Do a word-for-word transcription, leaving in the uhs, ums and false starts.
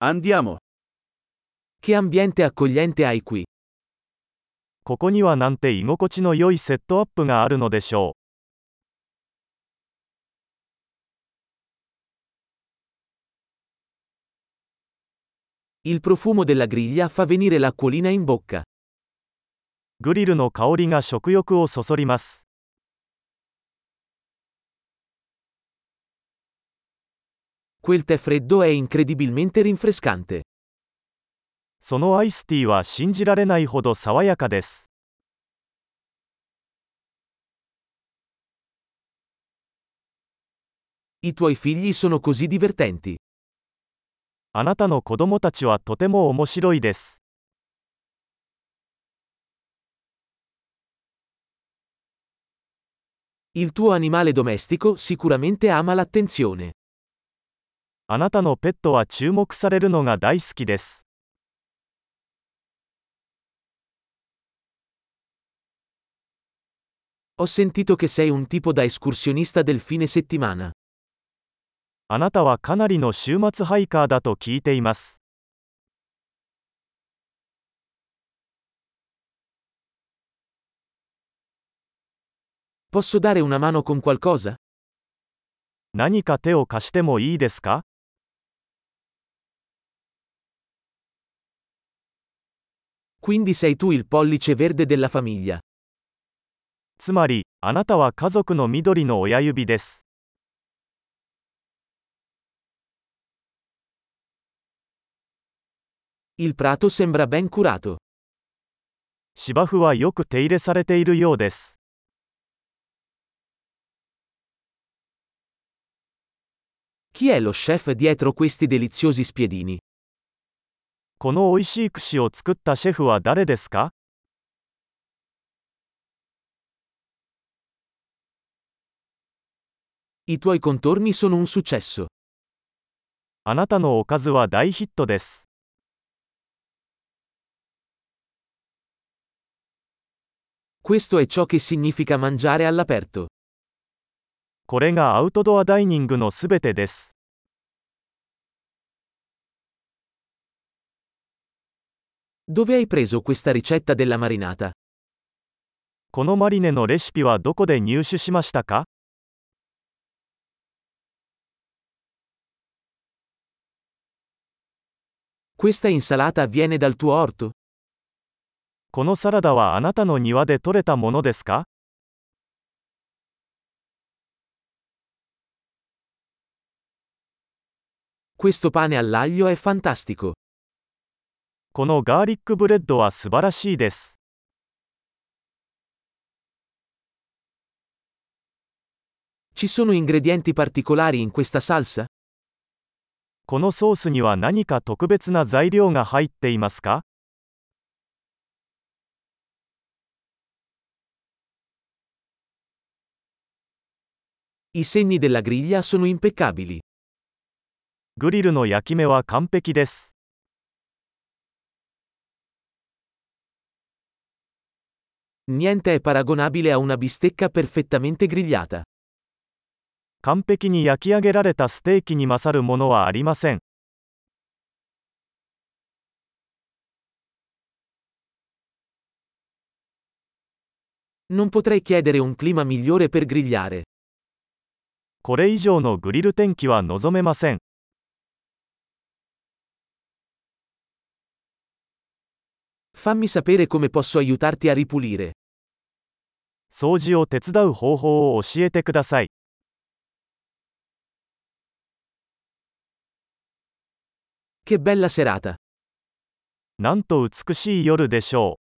Andiamo. Che ambiente accogliente hai qui. ここにはなんて居心地の良いセットアップがあるのでしょ Il profumo della griglia fa venire l'acquolina in bocca. う。グリルの香りが食欲をそそります。 Quel tè freddo è incredibilmente rinfrescante. そのアイスティーは信じられないほど爽やかです。 I tuoi figli sono così divertenti. あなたの子供たちはとても面白いです。 Il tuo animale domestico sicuramente ama l'attenzione. あなたのペットは注目されるのが大好きです。 Ho sentito che sei un tipo da escursionista del fine settimana. あなたはかなりの週末ハイカーだと聞いています。 Posso dare una mano con qualcosa? 何か手を貸してもいいですか？ Quindi sei tu il pollice verde della famiglia. つまり、あなたは家族の緑の親指です。 Il prato sembra ben curato. 芝生はよく手入れされているようです。 Chi è lo chef dietro questi deliziosi spiedini? この美味しい串を作ったシェフは誰ですか？ I tuoi contorni sono un successo. あなたのおかずは大ヒットです。 Questo è ciò che significa mangiare all'aperto. これがアウトドアダイニングのすべてです。 Dove hai preso questa ricetta della marinata? このマリネのレシピはどこで入手しましたか？ Questa insalata viene dal tuo orto? このサラダはあなたの庭で採れたものですか？ Questo pane all'aglio è fantastico. このガーリックブレッドは素晴らしいです。 Ci sono ingredienti particolari in questa salsa? このソースには何か特別な材料が入っていますか？ I segni della griglia sono impeccabili. グリルの焼き目は完璧です。 Niente è paragonabile a una bistecca perfettamente grigliata. 完璧に焼き上げられたステーキに勝るものはありません。 Non potrei chiedere un clima migliore per grigliare. これ以上のグリル天気は望めません。 Fammi sapere come posso aiutarti a ripulire. 掃除を手伝う方法を教えてください。 Che bella serata! なんと美しい夜でしょう。